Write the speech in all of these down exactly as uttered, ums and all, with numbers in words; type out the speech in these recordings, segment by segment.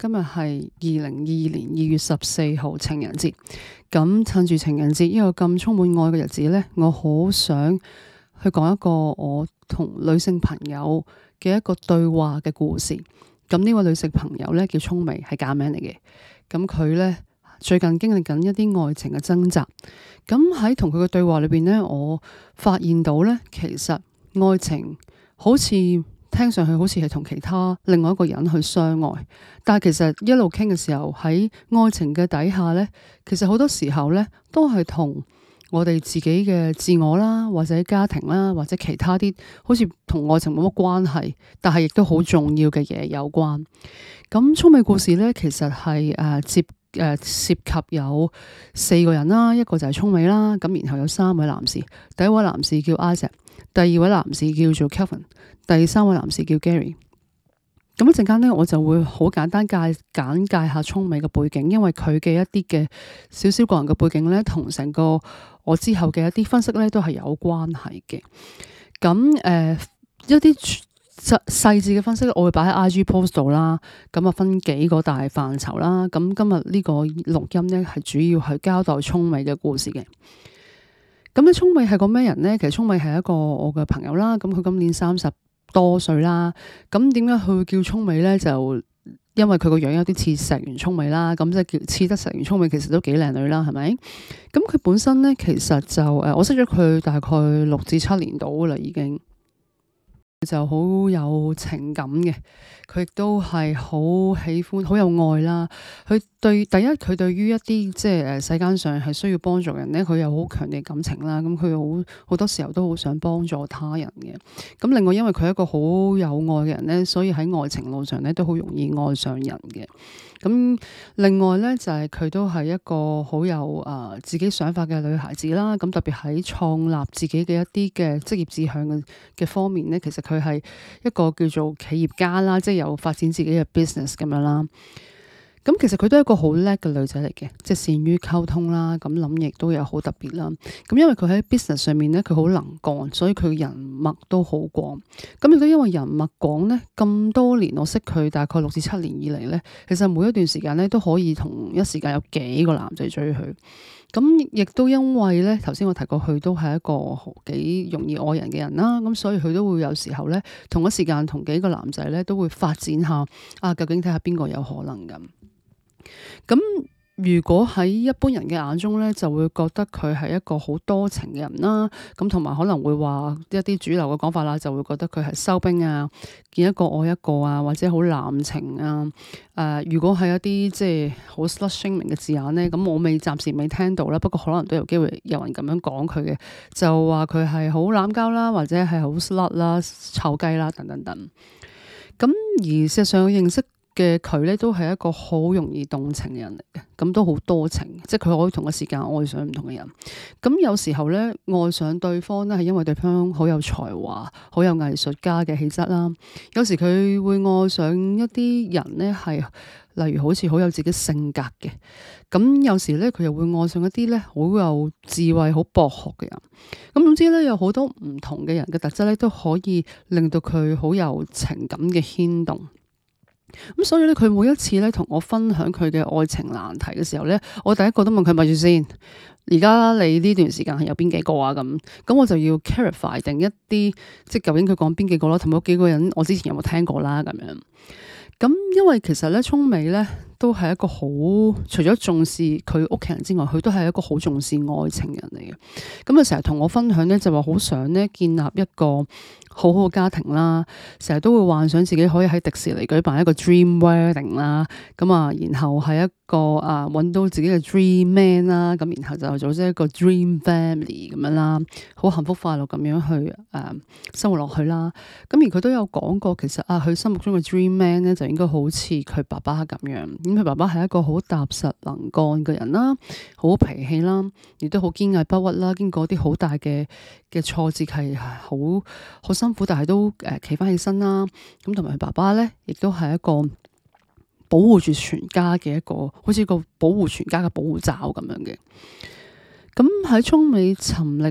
今日係二零二二年二月十四號情人節，咁趁住情人節呢個咁充滿愛嘅日子呢，我好想去講一個我同女性朋友嘅一個對話嘅故事。咁呢位女性朋友呢，叫聰美，係假名嚟嘅。咁佢呢，最近經歷緊一啲愛情嘅掙扎。咁喺同佢嘅對話裏邊呢，我發現到呢，其實愛情好似聽上去好似係同其他另外一個人去相愛，但係其實一路傾嘅時候，喺愛情嘅底下呢，其實好多時候呢都係同我哋自己嘅自我啦，或者家庭啦，或者其他啲好似同愛情冇乜關係，但係亦都好重要嘅嘢有關。咁聰美故事呢，其實係誒、呃、接誒、呃、涉及有四個人啦，一個就係聰美啦，咁然後有三位男士，第一位男士叫 Isaac， 第二位男士叫做 Kevin， 第三位男士叫 Gary。咁一陣間呢，我就會好簡單介簡介下聰美嘅背景，因為佢嘅一啲嘅少少個人嘅背景呢，同成個我之後嘅一啲分析呢，都係有關係嘅。咁誒、呃、一啲細細緻嘅分析，我會擺喺 I G post 度啦。咁啊，分幾個大範疇啦。咁今日呢個錄音呢，係主要係交代聰美嘅故事嘅。咁咧，聰美係個咩人呢？其實聰美係一個我嘅朋友啦。咁佢今年三十多歲啦。咁點解佢會叫聰美呢？就因為佢個樣有啲似石原聰美啦。咁即係叫似得石原聰美，其實都幾靚女啦，係咪？咁佢本身呢，其實就誒，我識咗佢大概六至七年到啦，已經。就好有情感嘅，佢亦都係好喜歡、好有愛啦。佢對第一，佢對於一啲即係誒世間上係需要幫助人咧，佢有好強烈感情啦。咁佢好好多時候都好想幫助他人嘅。咁另外，因為佢係一個好有愛嘅人咧，所以喺愛情路上咧都好容易愛上人嘅。咁另外咧就係、是、佢都係一個好有誒、呃、自己想法嘅女孩子啦。咁特別喺創立自己嘅一啲嘅職業志向嘅嘅方面咧，其實佢係一個叫做企業家啦，即係有發展自己嘅 business 咁樣啦。咁其實佢都係一個好叻嘅女仔嚟嘅，即係善於溝通啦。咁諗亦都有好特別啦。咁因為佢喺 business 上面咧，佢好能幹，所以佢人脈都好廣。咁亦都因為人脈廣咧，咁多年我識佢大概六至七年以嚟咧，其實每一段時間咧都可以同一時間有幾個男仔追佢。咁亦都因為咧，頭先我提過佢都係一個幾容易愛人嘅人啦。咁所以佢都會有時候咧，同一時間同幾個男仔咧都會發展下啊，究竟睇下邊個有可能咁。咁如果喺一般人嘅眼中咧，就會覺得佢係一個好多情嘅人啦。咁同埋可能會話一啲主流嘅講法啦，就會覺得佢係收兵啊，見一個愛一個啊，或者好濫情啊。誒、呃，如果係一啲即係好 slut shaming 嘅字眼咧，咁我未暫時未聽到啦。不過可能都有機會有人咁樣講佢嘅，就話佢係好濫交啦，或者係好 slut 啦、臭雞啦等等等。咁而事實上認識嘅佢咧，都係一個好容易動情嘅人嚟嘅，咁都好多情，即係佢可以同一時間愛上唔同嘅人。咁有時候咧，愛上對方咧係因為對方好有才華、好有藝術家嘅氣質啦。有時佢會愛上一啲人咧，係例如好似好有自己性格嘅。咁有時咧，佢又會愛上一啲咧好有智慧、好博學嘅人。咁總之咧，有好多唔同嘅人嘅特質咧，都可以令到佢好有情感嘅牽動。咁所以咧，佢每一次咧同我分享佢嘅愛情難題嘅時候咧，我第一個都問佢咪住先，而家你呢段時間係有邊幾個啊？咁咁我就要 clarify 定一啲，即係究竟佢講邊幾個啦，同埋嗰幾個人我之前有冇聽過啦咁樣。咁因為其實咧，聰美咧都係一個好，除咗重視佢屋企人之外，佢都係一個好重視愛情人嚟嘅。咁啊，成日同我分享咧，就話好想咧建立一個好好嘅家庭啦，成日都會幻想自己可以喺迪士尼舉辦一個 dream wedding 啦，咁啊，然後係一個啊揾到自己嘅 dream man 啦，咁然後就組織一個 dream family 咁樣啦，好幸福快樂咁樣去誒、呃、生活落去啦。咁而佢都有講過，其實啊，佢心目中嘅 dream man 咧就應該好似佢爸爸咁樣，咁佢爸爸係一個好踏實能幹嘅人啦，好脾氣啦，亦都好堅毅不屈啦，經過啲好大嘅嘅挫折係好好辛苦，但係都誒企翻起身啦。咁同埋佢爸爸咧，亦都係一個保護住全家嘅一個，好似個保護全家嘅保護罩咁樣嘅。咁喺聰美沉溺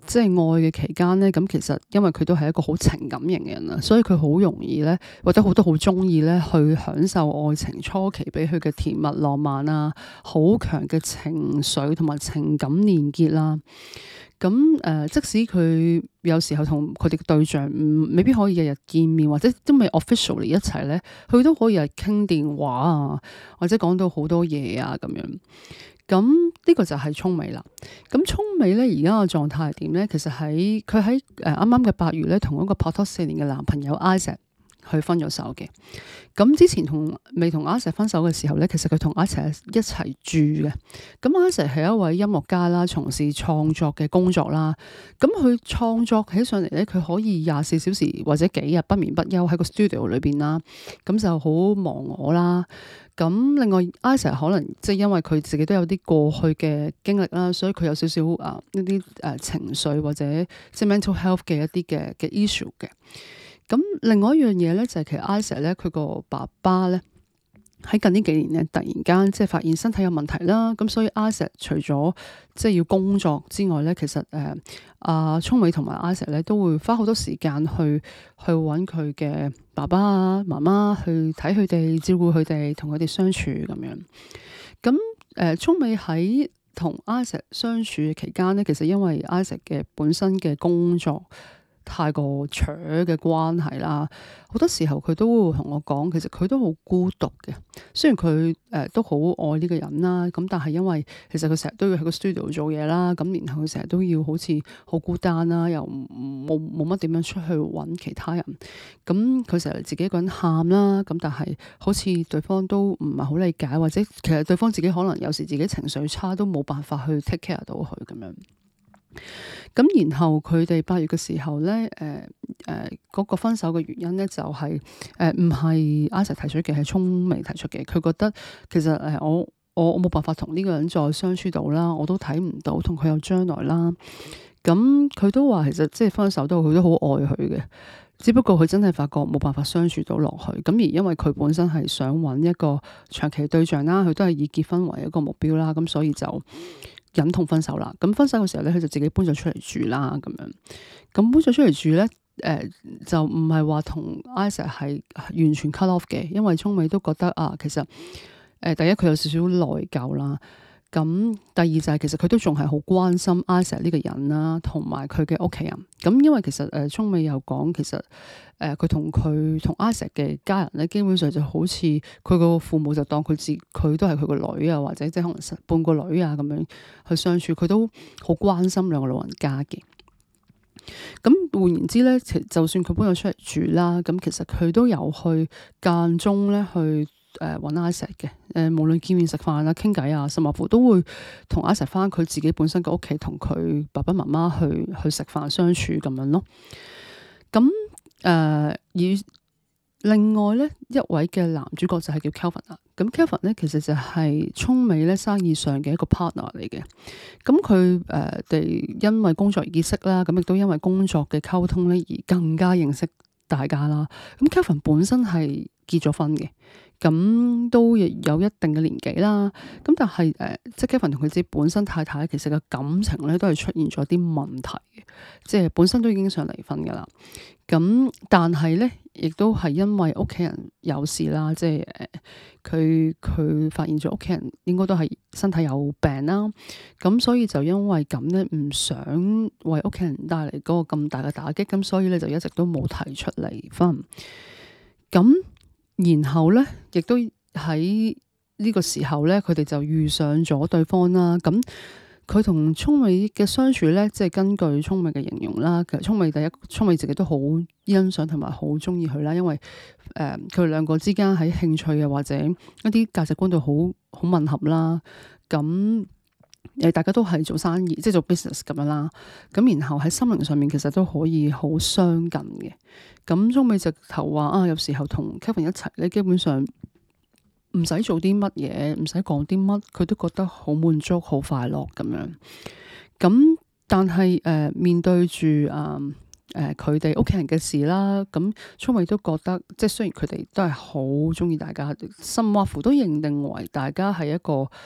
即係愛嘅期間咧，咁其實因為佢都係一個好情感型嘅人啦，所以佢好容易咧，或者好多好中意咧去享受愛情初期俾佢嘅甜蜜浪漫啊，好強嘅情緒同埋情感連結啦。咁誒、呃，即使佢有時候同佢哋嘅對象唔未必可以日日見面，或者都未 officially 一齊咧，佢都可以係傾電話啊，或者講到好多嘢啊咁樣。咁呢個就係聰美啦。咁聰美咧而家嘅狀態係點咧？其實喺佢喺誒啱啱嘅八月咧，同一個拍拖四年嘅男朋友 Isaac 去分咗手嘅。咁之前同未同 Isaac 分手嘅時候咧，其實佢同 Isaac 一齊住嘅。咁 Isaac 係一位音樂家啦，從事創作嘅工作啦。咁佢創作起上嚟咧，佢可以廿四小時或者幾日不眠不休喺個 studio 裏邊啦。咁就好忘我啦。咁另外 Isaac 可能即係因為佢自己都有啲過去嘅經歷啦，所以佢有少少啊呢啲誒情緒或者即係 mental health 嘅一啲嘅嘅 issue 嘅。咁另外一樣嘢咧就係其實 Isaac 咧佢個爸爸咧喺近呢幾年咧突然間即係發現身體有問題啦。咁所以 Isaac 除咗即係要工作之外咧，其實誒阿聰美同埋 Isaac 咧都會花好多時間去去揾佢嘅爸爸啊媽媽去睇佢哋，照顧佢哋，同佢哋相處咁樣。咁誒聰美喺同 Isaac 相處嘅期間咧，其實因為 Isaac 嘅本身嘅工作太過扯嘅關係啦，好多時候佢都會同我講，其實佢都好孤獨嘅。雖然佢誒、呃、都好愛呢個人啦，咁但係因為其實佢成日都要喺個 studio 做嘢啦，咁然後佢成日都要好似好孤單啦，又冇冇乜點樣出去揾其他人。咁佢成日自己一個人喊啦，咁但係好似對方都唔係好理解，或者其實對方自己可能有時自己情緒差，都冇辦法去 take care 到佢咁樣。咁然後佢哋八月嘅時候咧，誒誒嗰個分手嘅原因咧就係誒唔係 Isaac 提出嘅，係聰美提出嘅。佢覺得其實誒、呃、我我我冇辦法同呢個人再相處到啦，我都睇唔到同佢有將來啦。咁佢都話其實即係分手都佢都好愛佢嘅，只不過佢真係發覺冇辦法相處到落去。咁而因為佢本身係想揾一個長期對象啦，佢都係以結婚為一個目標啦，咁所以就忍痛分手啦。咁分手嘅時候咧，佢就自己搬咗出嚟住啦，咁樣。咁搬咗出嚟住咧，誒、呃、就唔係話同 Isaac 係完全 cut off 嘅，因為聰美都覺得啊，其實誒、呃、第一佢有少少內疚啦。咁第二就係其實佢都仲係好關心 Isaac 呢個人啦，同埋佢嘅屋企人。咁因為其實誒聰美又講，其實誒佢同佢同 Isaac 嘅家人咧，基本上就好似佢個父母就當佢自佢都係佢個女啊，或者即係可能半個女啊咁樣去相處，佢都好關心兩個老人家嘅。咁換言之咧，就算佢搬咗出嚟住啦，咁其實佢都有去間中咧去。誒揾 Isaac 嘅，誒、呃、無論見面食飯啊、傾偈啊，甚至乎都會同 Isaac 翻佢自己本身嘅屋企，同佢爸爸媽媽去去食飯相處咁樣咯。咁誒、呃、而另外咧一位嘅男主角就係叫 Kelvin 啦。咁 Kelvin 咧其實就係聰美咧生意上嘅一個 partner 嚟嘅。咁佢誒哋因為工作而結識啦，咁亦都因為工作嘅溝通咧而更加認識大家啦。咁 Kelvin 本身係結咗婚嘅。咁都有一定嘅年紀啦，咁但係誒、呃，即係 Kevin 同佢自己本身太太其實嘅感情咧都係出現咗啲問題嘅，即係本身都已經想離婚噶啦。咁但係咧，亦都係因為屋企人有事啦，即係誒，佢、呃、佢發現咗屋企人應該都係身體有病啦，咁所以就因為咁咧，唔想為屋企人帶嚟嗰個咁大嘅打擊，咁所以咧就一直都冇提出離婚。咁然後咧，亦都喺呢個時候咧，佢哋就遇上咗對方啦。咁佢同聰美嘅相處咧，即係根據聰美嘅形容啦。其實聰美第一，聰美自己都好欣賞同埋好中意佢啦，因為誒佢哋兩個之間喺興趣啊或者一啲價值觀度好好吻合啦。咁誒大家都係做生意，即係做 business 咁樣啦。咁然後喺心靈上面其實都可以好相近嘅。咁聰美直頭話啊，有時候同 Kevin 一齊咧，基本上唔使做啲乜嘢，唔使講啲乜，佢都覺得好滿足、好快樂咁樣。咁但係誒、呃、面對住啊誒佢哋屋企人嘅事啦，咁聰美都覺得，即係雖然佢哋都係好中意大家，甚或乎都認定為大家係一個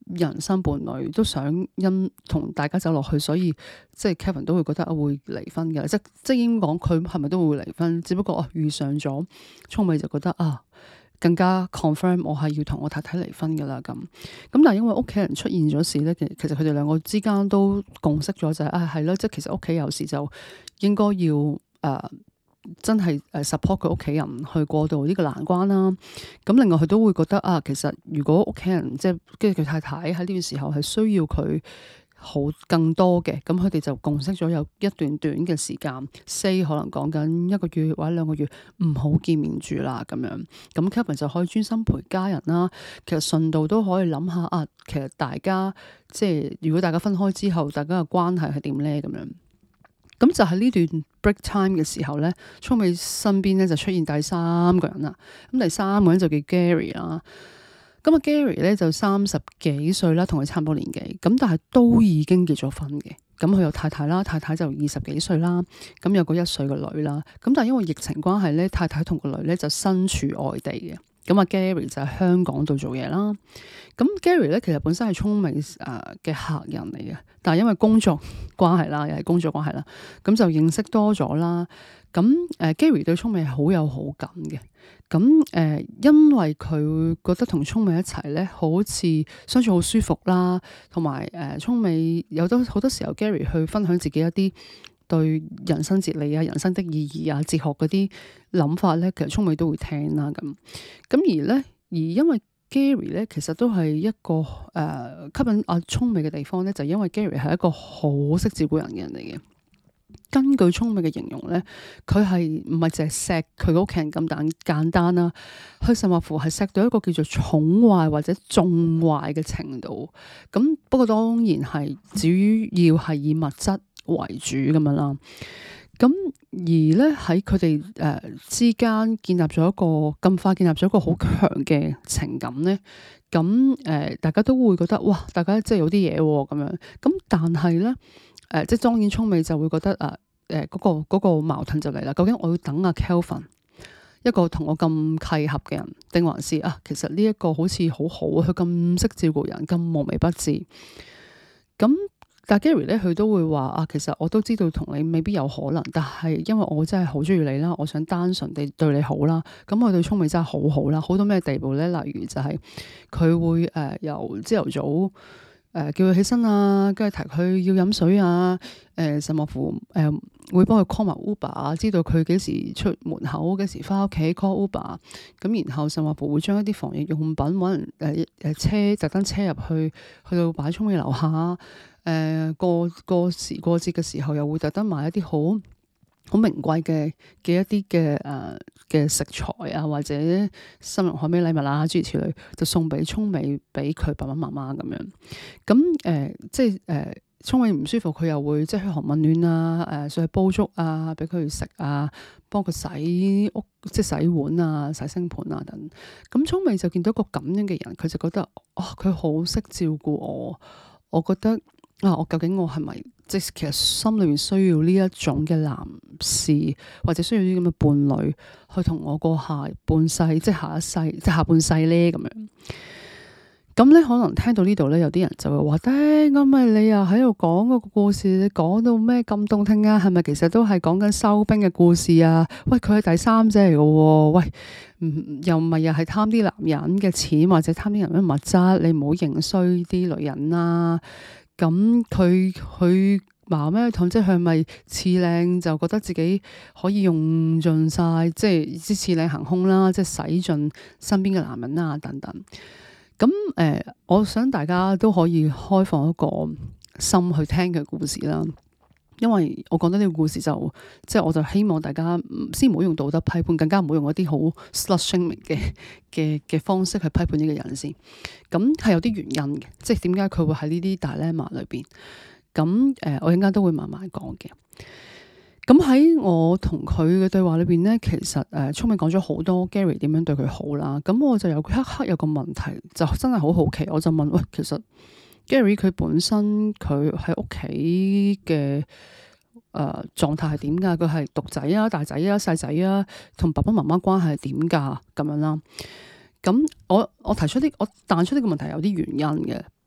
人生伴侶，都想因同大家走落去，所以即係 Kevin 都會覺得啊會離婚嘅，即即係應該講佢係咪都會離婚，只不過啊遇上咗聰美就覺得啊更加 confirm 我係要同我太太離婚噶啦咁，咁但係因為屋企人出現咗事咧，其其實佢哋兩個之間都共識咗就係、是、啊係咯，即係其實屋企有事就應該要誒。呃真係誒 support 佢屋企人去過渡呢個難關啦。咁另外佢都會覺得啊，其實如果屋企人即係跟住佢太太喺呢個時候係需要佢好更多嘅，咁佢哋就共識咗有一段短嘅時間，say 可能講緊一個月或者兩個月唔好見面住啦咁樣。咁 Kevin 就可以專心陪家人啦。其實順道都可以諗下啊，其實大家即係如果大家分開之後，大家嘅關係係點咧咁樣。咁就喺呢段 break time 嘅時候咧，聰美身邊咧就出現第三個人啦。咁第三個人就叫 Gary 啦。咁啊 Gary 咧就三十幾歲啦，同佢差唔多年紀。咁但係都已經結咗婚嘅。咁佢有太太啦，太太就二十幾歲啦。咁有個一歲嘅女啦。咁但係因為疫情關係咧，太太同個女咧就身處外地嘅。咁啊 Gary 就喺香港度做嘢啦。咁 Gary 咧其實本身係聰美誒嘅客人嚟嘅，但係因為工作關係啦，又係工作關係啦，咁就認識多咗啦。咁誒 Gary 對聰美係好有好感嘅。咁誒、呃、因為佢覺得同聰美一齊咧，好似相處好舒服啦，同埋誒聰美有多好多時候 Gary 去分享自己一啲對人生哲理啊、人生的意義啊、哲學嗰啲諗法咧，其實聰美都會聽啦咁。咁而咧，而因為 Gary 咧，其實都係一個誒、呃、吸引阿聰美嘅地方咧，就係、因為 Gary 係一個好識照顧人嘅人嚟嘅。根據聰美嘅形容咧，佢係唔係淨係錫佢個屋企人咁簡簡單啦，佢甚或乎係錫到一個叫做寵壞或者縱壞嘅程度。咁不過當然係主要係以物質為主咁樣啦。咁而咧喺佢哋誒之間建立咗一個咁快建立咗一個好強嘅情感咧，咁誒、呃、大家都會覺得哇，大家即係有啲嘢喎咁樣。咁但係咧誒，即係當然聰美就會覺得誒誒嗰個嗰個矛盾就嚟啦。究竟我要等阿 Kelvin 一個同我咁契合嘅人，定還是啊其實呢一個好似好好，佢咁識照顧人，咁無微不至咁。但 Gary 咧，佢都會話啊，其實我都知道同你未必有可能，但係因為我真係好中意你啦，我想單純地對你好啦。咁我對聰美真係好好啦，好到咩地步咧？例如就係佢會誒、呃、由朝頭早誒、呃、叫佢起身啊，跟住提佢要飲水啊，誒、呃、甚至乎誒、呃、會幫佢 call 埋 Uber 啊，知道佢幾時出門口，幾時翻屋企 call Uber。咁然後甚至乎會將一啲防疫用品揾人誒誒車特登車入去，去到擺聰美樓下。誒、呃、過過時過節嘅時候，又會特登買一啲好好名貴嘅嘅一啲嘅誒嘅食材啊，或者生日海味禮物啊，諸如此類，就送俾聰美，俾佢爸爸媽媽咁樣。咁誒、呃、即係誒聰美唔舒服，佢又會即係噓寒問暖啊，誒、呃、上去煲粥啊，俾佢食啊，幫佢洗屋，即係洗碗啊、洗星盤啊等。咁聰美就見到一個咁樣嘅人，佢就覺得哦，佢好識照顧我，我覺得。啊！我究竟我係咪即係其實心裏面需要呢一種嘅男士，或者需要啲咁嘅伴侶去同我過下半世，即係下一世，即係下半世咧咁樣。咁咧可能聽到呢度咧，有啲人就會話：，誒，咁咪你又喺度講嗰個故事，你講到咩咁動聽啊？係咪其實都係講緊收兵嘅故事啊？喂，佢係第三者嚟嘅喎，喂，唔又唔係又係貪啲男人嘅錢，或者貪啲人嘅物質，你唔好認衰啲女人啦。咁佢佢話咩？即係佢咪次靚就覺得自己可以用盡晒，即係啲次靚行兇啦，即係使盡身邊嘅男人啊等等。咁誒、呃，我想大家都可以開放一個心去聽佢故事啦。因為我講得呢個故事就即係我就希望大家先唔好用道德批判，更加唔好用一啲好 slut shaming 嘅嘅嘅方式去批判呢個人先。咁係有啲原因嘅，即係點解佢會喺呢啲 dilemma 裏邊。咁誒、呃，我陣間都會慢慢講嘅。咁喺我同佢嘅對話裏邊咧，其實誒聰美講咗好多 Gary 點樣對佢好啦。咁我就有一刻有個問題，就真係好好奇，我就問喂，其實 Gary 佢本身佢喺屋企嘅誒狀態係點㗎？佢係獨仔啊、大仔啊、細仔啊，同爸爸媽媽關係係點㗎？咁樣啦。咁我我提出啲我彈出呢個問題有啲原因嘅。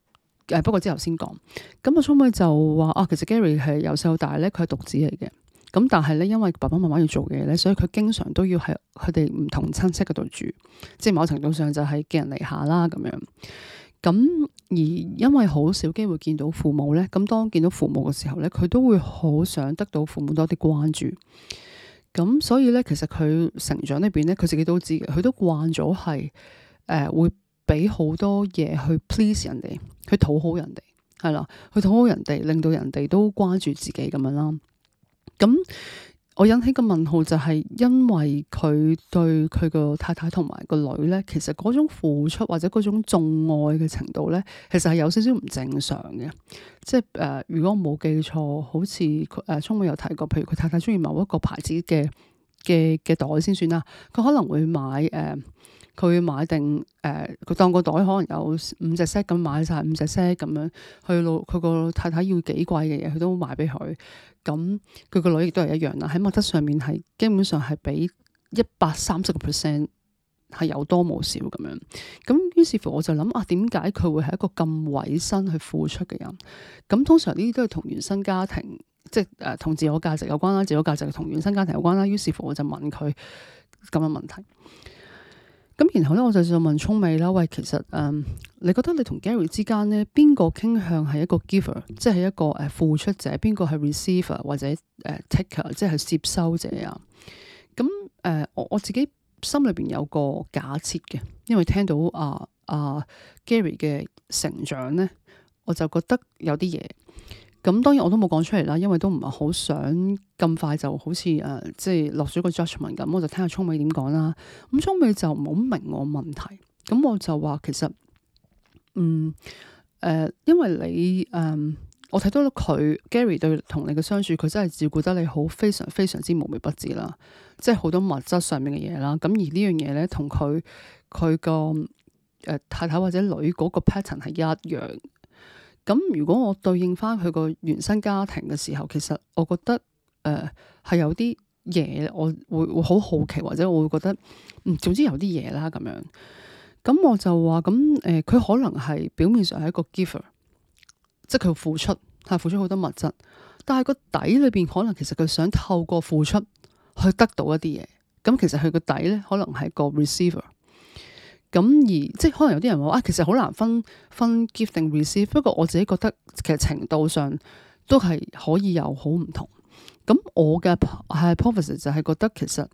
誒不過之後先講。咁啊，聰妹就話啊，其實 Gary 係由細到大咧，佢係獨子嚟嘅。咁但係咧，因為爸爸媽媽要做嘅嘢咧，所以佢經常都要喺佢哋唔同親戚嗰度住，即係某程度上就係寄人籬下啦咁樣。咁而因為好少機會見到父母咧，咁當見到父母嘅時候咧，佢都會好想得到父母多啲關注。咁所以咧，其實佢成長裏邊咧，佢自己都知嘅，佢都慣咗係誒會俾好多嘢去 please 人哋，去討好人哋，係啦，去討好人哋，令到人哋都關注自己咁樣啦。咁我引起個問號就係因為佢對佢個太太同埋個女咧，其實嗰種付出或者嗰種寵愛嘅程度咧，其實係有少少唔正常嘅。即係誒、呃，如果我冇記錯，好似誒聰妹有提過，譬如佢太太中意某一個牌子嘅嘅嘅袋先算啦，佢可能會買誒。呃佢會買定誒，佢、呃、當個袋可能有五隻 set 咁買晒五隻 set 咁樣，去到佢個太太要幾貴嘅嘢，佢都買俾佢。咁佢個女亦都係一樣啦，喺物質上面係基本上係比一百三十個 percent 係有多冇少咁樣。咁於是乎我就諗啊，點解佢會係一個咁委身去付出嘅人？咁通常呢啲都係同原生家庭，即係誒同自我價值有關啦，自我價值同原生家庭有關啦。於是乎我就問佢咁嘅問題。咁然後咧，我就就問聰美啦，喂，其實誒、嗯，你覺得你同 Gary 之間咧，邊個傾向係一個 giver，即係一個誒付出者，邊個係 receiver 或者誒 taker，即係接收者啊？咁誒、呃，我我自己心裏邊有個假設嘅，因為聽到啊啊 Gary 嘅成長咧，我就覺得有啲嘢。咁當然我都冇講出嚟啦，因為都唔係好想咁快就好似誒、呃，即係落咗個 judgment 咁，我就聽下聰美點講啦。咁聰美就唔好明我問題，咁我就話其實，嗯誒、呃，因為你誒、呃，我睇到佢 Gary 對同你嘅相處，佢真係照顧得你好，非常非常之無微不至啦，即係好多物質上面嘅嘢啦。咁而呢樣嘢咧，同佢佢個誒太太或者女嗰個 pattern 係一樣。咁如果我對應翻佢個原生家庭嘅時候，其實我覺得誒係、呃、有啲嘢，我會會好好奇，或者我會覺得嗯，總之有啲嘢啦咁樣。咁我就話咁誒，佢、呃、可能係表面上係一個 giver，即係佢付出係付出好多物質，但係個底裏邊可能其實佢想透過付出去得到一啲嘢。咁其實佢個底咧，可能係個 receiver。咁而即係可能有啲人話啊，其實好難分分 give 定 receive。不過我自己覺得其實程度上都係可以有好唔同。咁我嘅係 hypothesis 就係覺得其實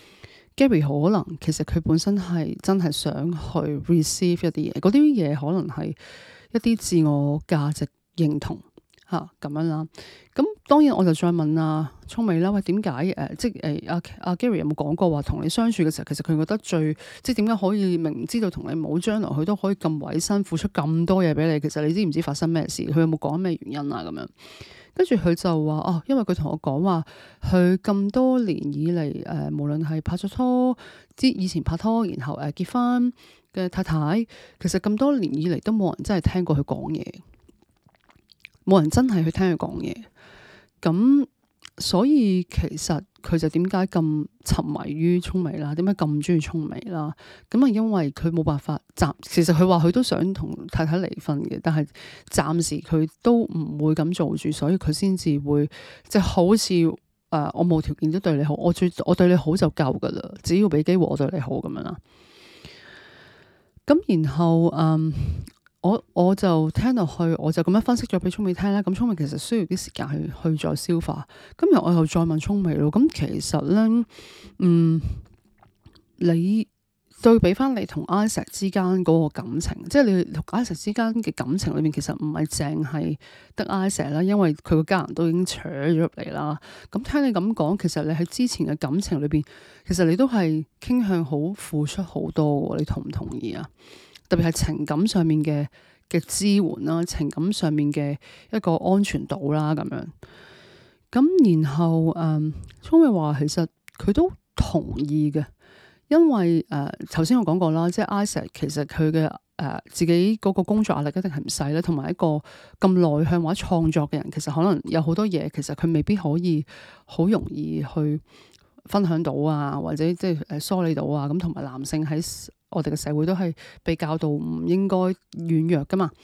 Gary 可能其實佢本身係真係想去 receive 一啲嘢，嗰啲嘢可能係一啲自我價值認同。吓咁樣啦，咁當然我就再問阿聰美啦，喂，點解誒，即係誒阿阿 Gary 有冇講過話同你相處嘅時候，其實佢覺得最即係點解可以明知道同你冇將來，佢都可以咁委身付出咁多嘢俾你？其實你知唔知發生咩事？佢有冇講咩原因啊？咁樣跟住佢就話哦，因為佢同我講話，佢咁多年以嚟誒、呃，無論係拍咗拖，之以前拍拖，然後誒、呃、結婚嘅太太，其實咁多年以嚟都冇人真係聽過佢講嘢。冇人真係去聽佢講嘢，咁所以其實佢就點解咁沉迷於聰美啦？點解咁中意聰美啦？咁啊，因為佢冇辦法暫，其實佢話佢都想同太太離婚嘅，但係暫時佢都唔會咁做住，所以佢先至會即係、就是、好似誒、呃，我冇條件都對你好，我最我對你好就夠噶啦，只要俾機會我對你好咁樣啦。咁然後嗯。我我就聽落去，我就咁樣分析咗俾聰美聽啦。咁聰美其實需要啲時間去去再消化。今日我又再問聰美咯。咁其實咧，嗯，你對比翻你同 Isaac 之間嗰個感情，即係你同 Isaac 之間嘅感情裏面，其實唔係淨係得 Isaac 啦，因為佢個家人都已經扯咗入嚟啦。咁聽你咁講，其實你喺之前嘅感情裏邊，其實你都係傾向好付出好多。你同唔同意啊？特別係情感上面嘅嘅支援啦，情感上面嘅一個安全島啦，咁樣。咁然後誒，聰美話其實佢都同意嘅，因為誒頭先我講過啦，即係 Isaac 其實佢嘅誒自己嗰個工作壓力一定係唔細啦，同埋一個咁內向或者創作嘅人，其實可能有好多嘢，其實佢未必可以好容易去分享到啊，或者即係誒梳理到啊。咁同埋男性喺我哋嘅社會都係被教導唔應該軟弱噶嘛，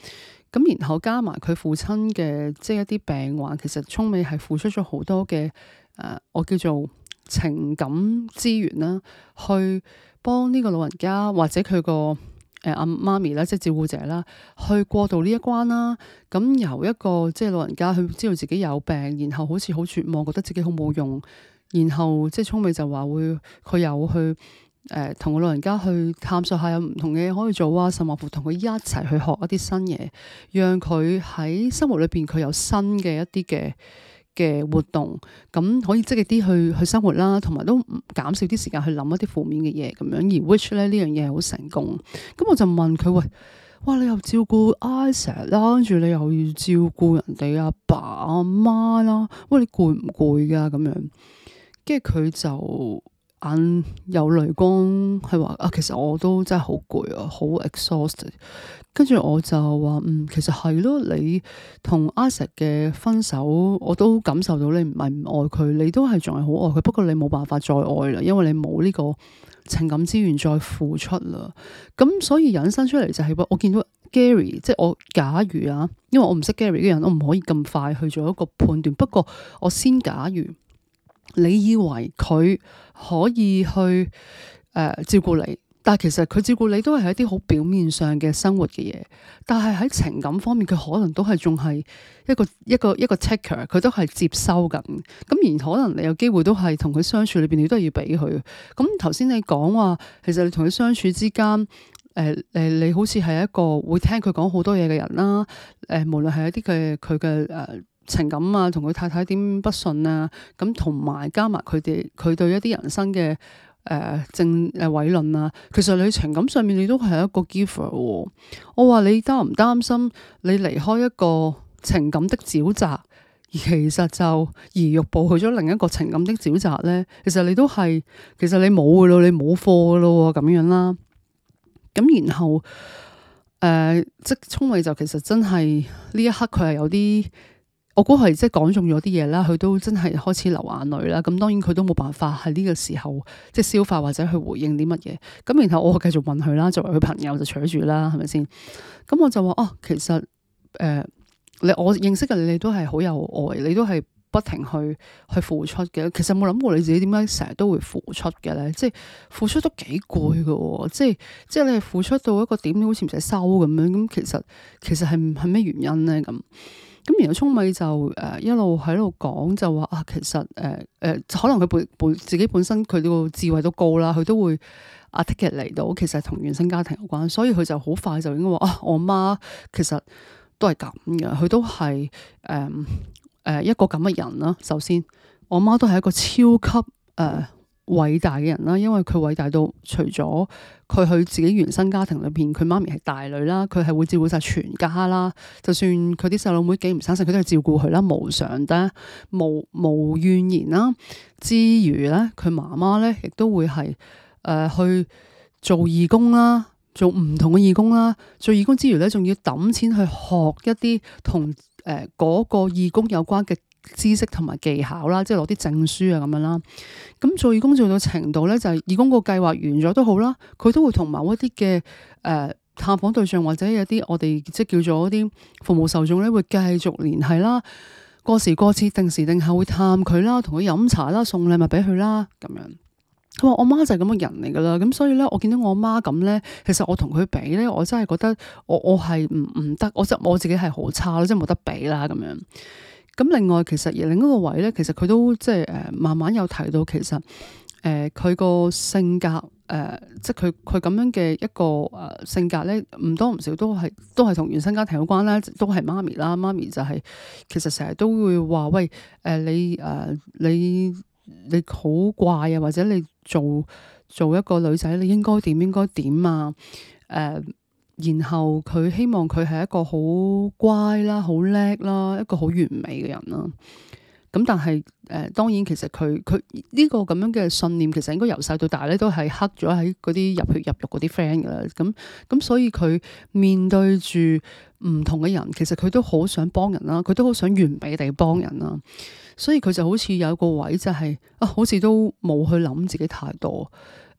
咁然後加埋佢父親嘅即係一啲病患，其實聰美係付出咗好多嘅誒、呃，我叫做情感資源啦，去幫呢個老人家或者佢個誒阿媽咪啦，即係照顧者啦，去過渡呢一關啦。咁由一個即係老人家，佢知道自己有病，然後好似好絕望，覺得自己好冇用，然後即係聰美就話會佢有去。誒同個老人家去探索下有唔同嘅嘢可以做啊，甚至乎同佢一齊去學一啲新嘢，讓佢喺生活裏邊佢有新嘅一啲嘅嘅活動，咁可以積極啲去去生活啦，同埋都減少啲時間去諗一啲負面嘅嘢咁樣。而 which 咧呢樣嘢係好成功，咁我就問佢喂，哇你又照顧 Isaac 啦，跟住你又要照顧人哋阿爸阿媽啦，喂你攰唔攰噶咁樣？跟住佢就眼有淚光，係話啊，其實我都真係好攰啊，好 exhausted。跟住我就話嗯，其實係咯，你同 Isaac 嘅分手，我都感受到你唔係唔愛佢，你都係仲係好愛佢，不過你冇辦法再愛啦，因為你冇呢個情感資源再付出啦。咁所以引申出嚟就係話，我見到 Gary， 即係我假如啊，因為我唔識 Gary 嘅人，我唔可以咁快去做一個判斷。不過我先假如。你以為佢可以去誒、呃、照顧你，但係其實佢照顧你都係一啲好表面上嘅生活嘅嘢，但係喺情感方面佢可能都係仲係一個一個一個 taker， 佢都係接收緊。咁而可能你有機會都係同佢相處裏邊，你都係要俾佢。咁頭先你講話，其實你同佢相處之間，誒、呃、誒，你好似係一個會聽佢講好多嘢嘅人啦。誒、呃，無論係一啲嘅佢嘅誒。情感啊，同佢太太點不順啊，咁同埋加埋佢哋佢對一啲人生嘅誒、呃、正誒偉論啊，其實你情感上面你都係一個 giver 喎。我話你擔唔擔心你離開一個情感的沼澤，而其實就移玉步去咗另一個情感的沼澤咧？其實你都係，其實你冇噶咯，你冇貨噶咯咁樣啦。咁然後誒、呃，即聰美就其實真係呢一刻佢係有啲。我估係即係講中咗啲嘢啦，佢都真係開始流眼淚啦。咁當然佢都冇辦法喺呢個時候即係消化或者去回應啲乜嘢。咁然後我繼續問佢啦，作為佢朋友就扯住啦，係咪先？咁我就話哦，其實誒、呃，你我認識嘅你，你都係好有愛，你都係不停去去付出嘅。其實冇諗過你自己點解成日都會付出嘅咧？即係付出都幾攰噶，即係即係你係付出到一個點，好似唔使收咁樣。咁其實其實係係咩原因咧？咁？咁然後聰美就誒、呃、一路喺度講就話啊，其實誒誒、呃呃、可能佢本本自己本身佢個智慧都高啦，佢都會啊 take it 嚟到，其實同原生家庭有關，所以佢就好快就應該話啊，我媽其實都係咁嘅，佢都係誒誒一個咁嘅人啦。首先，我媽都係一個超級誒、呃偉大嘅人啦，因為佢偉大到除咗佢去自己原生家庭裏邊，佢媽咪係大女啦，佢係會照顧晒全家啦。就算佢啲細佬妹幾唔生性，佢都係照顧佢啦，無償得無無怨言啦。之餘咧，佢媽媽咧亦都會係誒、呃、去做義工啦，做唔同嘅義工啦。做義工之餘咧，仲要抌錢去學一啲同誒嗰個義工有關嘅知識同埋技巧啦，即係攞啲證書啊咁樣啦。咁做義工做到程度咧，就係、是、義工個計劃完咗都好啦，佢都會同某一啲嘅誒探訪對象或者有啲我哋即係叫做一啲服務受眾咧，會繼續聯繫啦。過時過節定時定候會探佢啦，同佢飲茶啦，送禮物俾佢啦咁樣。佢話我媽就係咁嘅人嚟噶啦，咁所以咧，我見到我媽咁咧，其實我同佢比咧，我真係覺得我我係唔唔得，我即我自己係好差咯，即係冇得比啦咁樣。咁另外其實而另一個位咧，其實佢都即係誒慢慢有提到，其實誒佢個性格誒、呃，即係佢佢咁樣嘅一個誒性格咧，唔多唔少都係都係同原生家庭有關啦，都係媽咪啦，媽咪就係、是、其實成日都會話喂誒、呃、你誒、呃、你你好怪啊，或者你做做一個女仔你應該點應該點啊誒。呃然後佢希望佢係一個好乖啦、好叻啦、一個好完美嘅人啦。咁但係誒、呃，當然其實佢佢呢個咁樣嘅信念，其實應該由細到大咧都係刻咗喺嗰啲入血入肉嗰啲 friend 噶啦。咁咁所以佢面對住唔同嘅人，其實佢都好想幫人啦，佢都好想完美地幫人啦。所以佢就好似有個位就係、是、啊，好似都冇去諗自己太多。誒、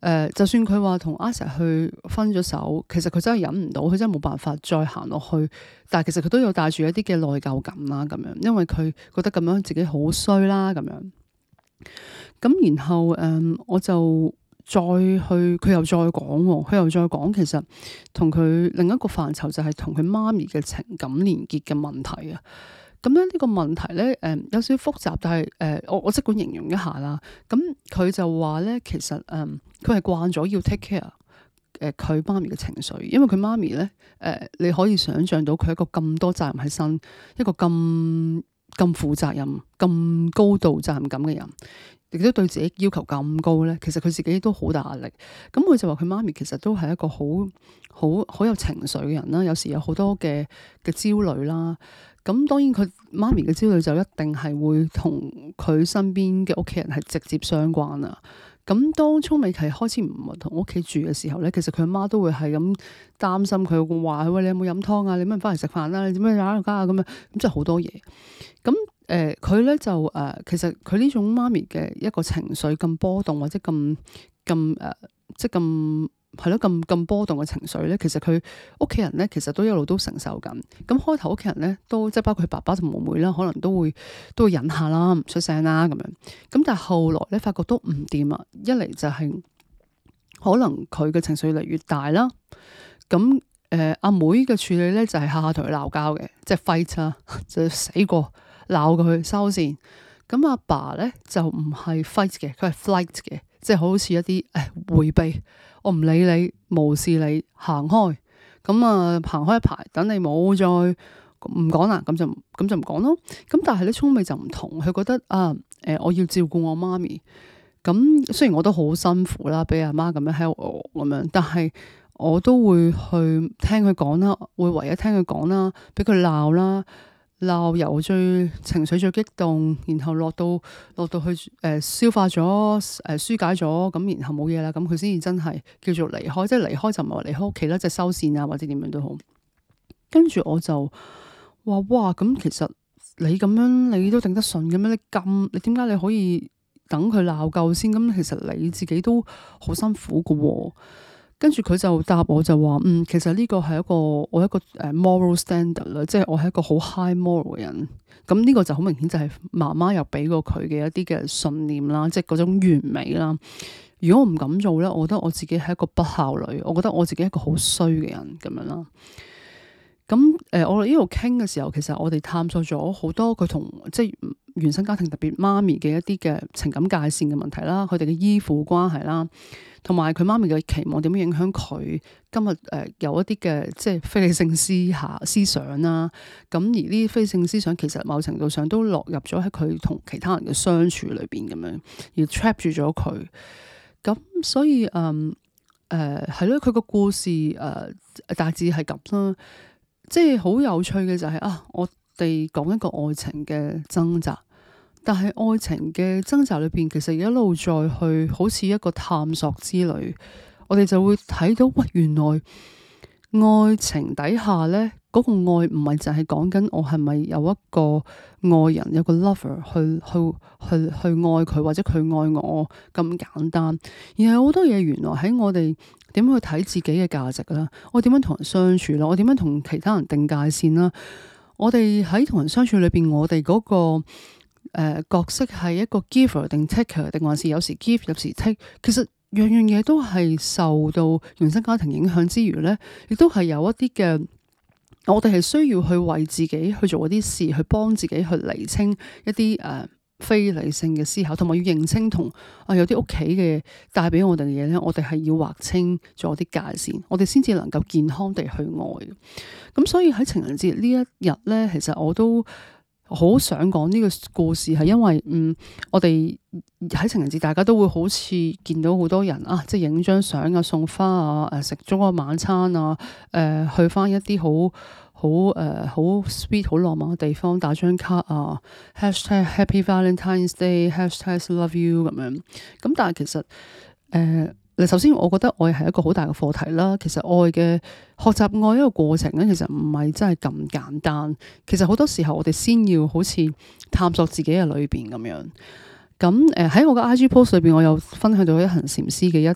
呃，就算佢話同阿 Sir 去分咗手，其實佢真係忍唔到，佢真係冇辦法再行落去。但係其實佢都有帶住一啲嘅內疚感啦，咁樣，因為佢覺得咁樣自己好衰啦，咁樣。咁然後誒、嗯，我就再去，佢又再講，佢又再講，其實同佢另一個範疇就係同佢媽咪嘅情感連結嘅問題啊。咁咧呢個問題咧，誒、嗯、有少少複雜，但係誒、呃、我我即管形容一下啦。咁佢就話咧，其實誒佢係慣咗要 take care 誒佢媽咪嘅情緒，因為佢媽咪咧誒你可以想象到佢係一個咁多責任喺身，一個咁咁負責任、咁高度責任感嘅人，亦都對自己要求咁高咧。其實佢自己都好大壓力。咁佢就話佢媽咪其實都係一個好好好有情緒嘅人啦，有時有好多嘅嘅焦慮啦。咁當然佢媽咪嘅焦慮就一定係會同佢身邊嘅屋企人係直接相關啦。咁當聰美琪開始唔係同屋企住嘅時候咧，其實佢阿媽都會係咁擔心佢，話喂，你有冇飲湯啊？你乜翻嚟食飯啦？你點樣打家啊？咁樣咁即係好多嘢。咁誒佢咧就誒、呃、其實佢呢種媽咪嘅一個情緒咁波動或者咁咁誒即係咁。係咯，咁咁波動嘅情緒咧，其實佢屋企人咧，其實都一路都承受緊。咁開頭屋企人咧，都即係包括佢爸爸同妹妹啦，可能都會都會忍下啦，唔出聲啦咁樣。咁但係後來咧，發覺都唔掂啊！一嚟就係、是、可能佢嘅情緒越嚟越大啦。咁誒阿妹嘅處理咧，就係下下同佢鬧交嘅，即係 fight 啦，就死過鬧佢收線。咁阿爸咧就唔係 fight 嘅，佢係 flight 嘅，即係好似一啲誒迴避。我唔理你，無視你，行開。咁啊，行開一排，等你冇再唔講啦，咁就咁就唔講咯。咁但係咧，聰美就唔同，佢覺得啊，誒、呃，我要照顧我媽咪。咁雖然我都好辛苦啦，俾阿媽咁樣 help 我咁樣，但係我都會去聽佢講啦，會唯一聽佢講啦，俾佢鬧啦。鬧由最情緒最激動，然後落到落到去誒、呃、消化咗誒、呃、疏解咗，咁然後冇嘢啦，咁佢先至真係叫做離開，即係離開就唔係話離開屋企啦，即係收線啊或者點樣都好。跟住我就話哇，咁其實你咁樣你都頂得順嘅咩？你咁你點解你可以等佢鬧夠先？咁其實你自己都好辛苦㗎喎。跟住佢就答我就話，嗯，其實呢個係一個我一個誒 moral standard 啦，即係我係一個好 high moral 嘅人。咁呢個就好明顯就係媽媽又俾過佢嘅一啲嘅信念啦，即係嗰種完美啦。如果我唔敢做咧，我覺得我自己係一個不孝女，我覺得我自己係一個好衰嘅人咁樣啦。咁誒、呃，我哋呢度傾嘅時候，其實我哋探索咗好多佢同即係原生家庭特別媽咪嘅一啲嘅情感界線嘅問題啦，佢哋嘅依附關係啦。同埋佢媽咪嘅期望點樣影響佢今日誒、呃、有一啲嘅即係非理性思考思想啦。咁而呢啲非理性思想其實某程度上都落入咗喺佢同其他人嘅相處裏邊咁樣，而 trap 住咗佢。咁所以嗯誒係咯，佢、呃、個故事誒、呃、大致係咁啦。即係好有趣嘅就係、是、啊，我哋講一個愛情嘅掙扎。但係愛情嘅掙扎裏邊，其實一路再去，好似一個探索之旅，我哋就會睇到，喂，原來愛情底下咧，嗰、那個愛唔係就係講緊我係咪有一個愛人，有個 lover 去去去去愛佢，或者佢愛我咁簡單，而係好多嘢原來喺我哋點樣去睇自己嘅價值啦，我點樣同人相處啦，我點樣同其他人定界線啦，我哋喺同人相處裏邊，我哋嗰、那個。誒、呃、角色係一個 giver 定 taker 定還是有時 give 有時 take，其實樣樣嘢都係受到原生家庭影響之餘咧，亦都係有一啲嘅，我哋係需要去為自己去做一啲事，去幫自己去釐清一啲誒、呃、非理性嘅思考，同埋要認清同啊有啲屋企嘅帶俾我哋嘅嘢咧，我哋係要劃清咗啲界線，我哋先至能夠健康地去愛。咁所以喺情人節呢一日咧，其實我都好想講呢個故事，係因為嗯，我哋喺情人節，大家都會好似見到好多人啊，即係影張相啊、送花啊、誒食咗個晚餐啊、誒、呃、去翻一啲好好誒好 sweet 好浪漫嘅地方打張卡啊 ，hashtag Happy Valentine's Day，hashtag Love You 咁樣。咁但係其實誒。呃首先，我覺得愛係一個好大嘅課題啦。其實愛嘅學習愛一個過程咧，其實唔係真係咁簡單。其實好多時候，我哋先要好似探索自己嘅裏邊咁樣。咁誒喺我嘅 I G post 裏邊，我有分享到一行禪師嘅一一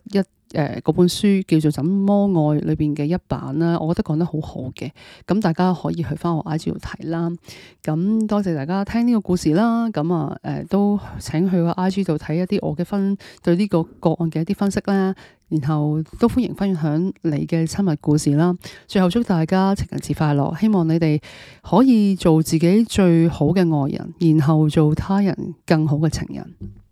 誒嗰本書叫做《怎麼愛》裏邊嘅一版啦，我覺得講得好好嘅，咁大家可以去翻我 I G 度睇啦。咁多謝大家聽呢個故事啦，咁啊誒都請去個 I G 度睇一啲我嘅分對呢個個案嘅一啲分析啦，然後都歡迎分享你嘅親密故事啦。最後祝大家情人節快樂，希望你哋可以做自己最好嘅愛人，然後做他人更好嘅情人。